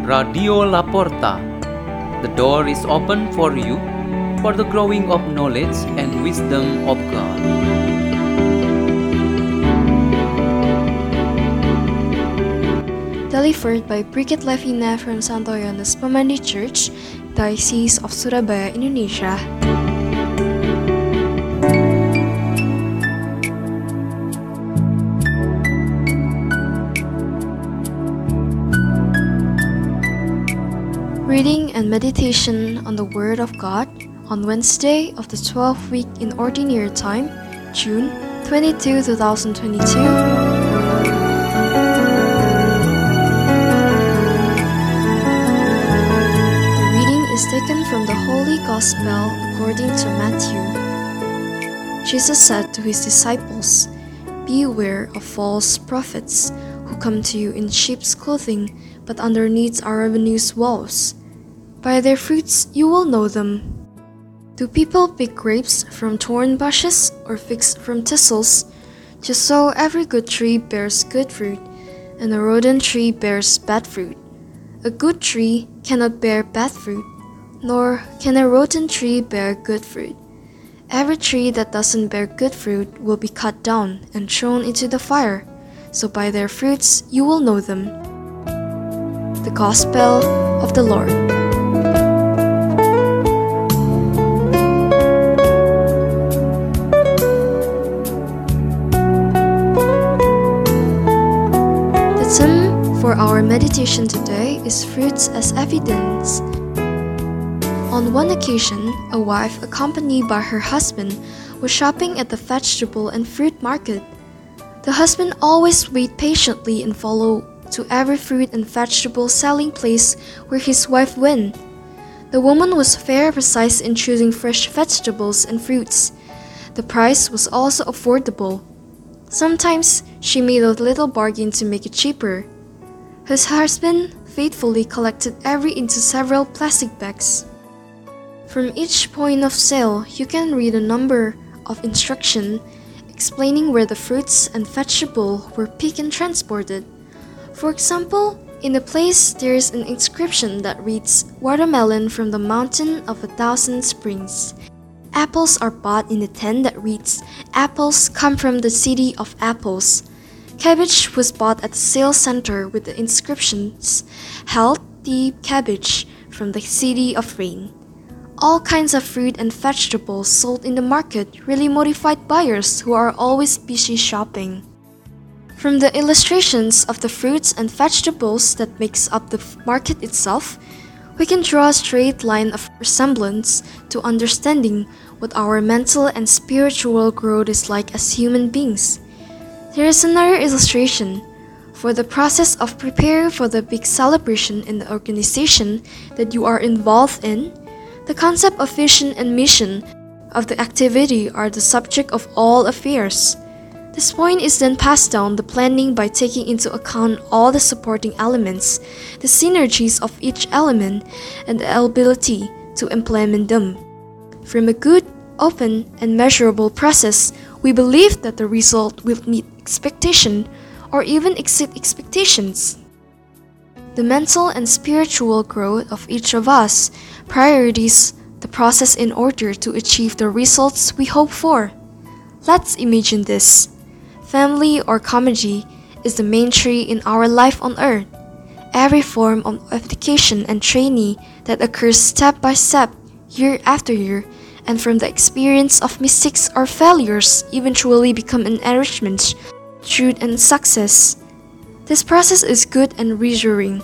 Radio Laporta. The door is open for you for the growing of knowledge and wisdom of God. Delivered by Brigit Levina from Santo Yohanes Pemandi Church, Diocese of Surabaya, Indonesia. Reading and meditation on the Word of God on Wednesday of the 12th week in Ordinary Time, June 22, 2022. The reading is taken from the Holy Gospel according to Matthew. Jesus said to his disciples, "Beware of false prophets who come to you in sheep's clothing, but underneath are ravenous wolves. By their fruits you will know them. Do people pick grapes from thorn bushes or figs from thistles? Just so every good tree bears good fruit, and a rotten tree bears bad fruit. A good tree cannot bear bad fruit, nor can a rotten tree bear good fruit. Every tree that doesn't bear good fruit will be cut down and thrown into the fire. So by their fruits you will know them." The Gospel of the Lord. The theme for our meditation today is fruits as evidence. On one occasion, a wife accompanied by her husband was shopping at the vegetable and fruit market. The husband always waited patiently and followed to every fruit and vegetable selling place where his wife went. The woman was very precise in choosing fresh vegetables and fruits. The price was also affordable. Sometimes she made a little bargain to make it cheaper. His husband faithfully collected every into several plastic bags. From each point of sale, you can read a number of instructions explaining where the fruits and vegetables were picked and transported. For example, in a place there is an inscription that reads, "Watermelon from the mountain of 1,000 springs." Apples are bought in a tent that reads, "Apples come from the city of apples." Cabbage was bought at the sales center with the inscriptions, "Healthy cabbage from the city of rain." All kinds of fruit and vegetables sold in the market really motivated buyers who are always busy shopping. From the illustrations of the fruits and vegetables that makes up the market itself, we can draw a straight line of resemblance to understanding what our mental and spiritual growth is like as human beings. There is another illustration. For the process of preparing for the big celebration in the organization that you are involved in, the concept of vision and mission of the activity are the subject of all affairs. This point is then passed down the planning by taking into account all the supporting elements, the synergies of each element, and the ability to implement them. From a good, open, and measurable process, we believe that the result will meet expectation or even exceed expectations. The mental and spiritual growth of each of us priorities the process in order to achieve the results we hope for. Let's imagine this. Family or comedy is the main tree in our life on earth. Every form of education and training that occurs step by step, year after year, and from the experience of mistakes or failures eventually become an enrichment, truth and success. This process is good and reassuring.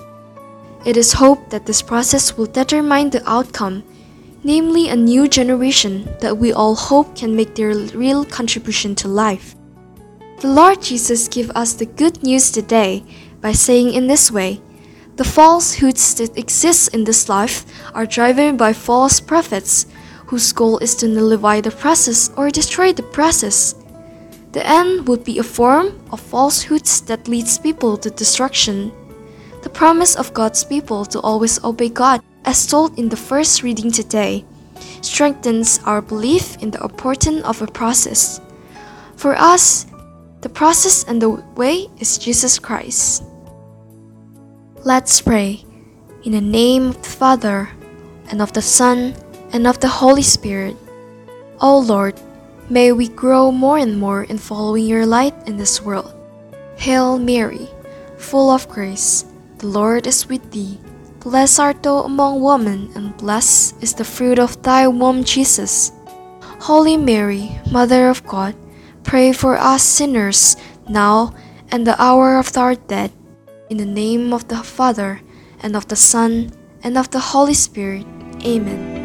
It is hoped that this process will determine the outcome, namely a new generation that we all hope can make their real contribution to life. The Lord Jesus gives us the good news today by saying in this way, "The falsehoods that exist in this life are driven by false prophets, whose goal is to nullify the process or destroy the process." The end would be a form of falsehoods that leads people to destruction. The promise of God's people to always obey God, as told in the first reading today, strengthens our belief in the importance of a process. For us, the process and the way is Jesus Christ. Let's pray. In the name of the Father, and of the Son, and of the Holy Spirit. O Lord, may we grow more and more in following your light in this world. Hail Mary, full of grace, the Lord is with thee. Blessed art thou among women, and blessed is the fruit of thy womb, Jesus. Holy Mary, Mother of God, pray for us sinners, now and the hour of our death. In the name of the Father, and of the Son, and of the Holy Spirit.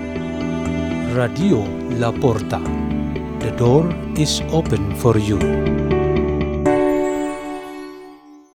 Amen. Radio La Porta. The door is open for you.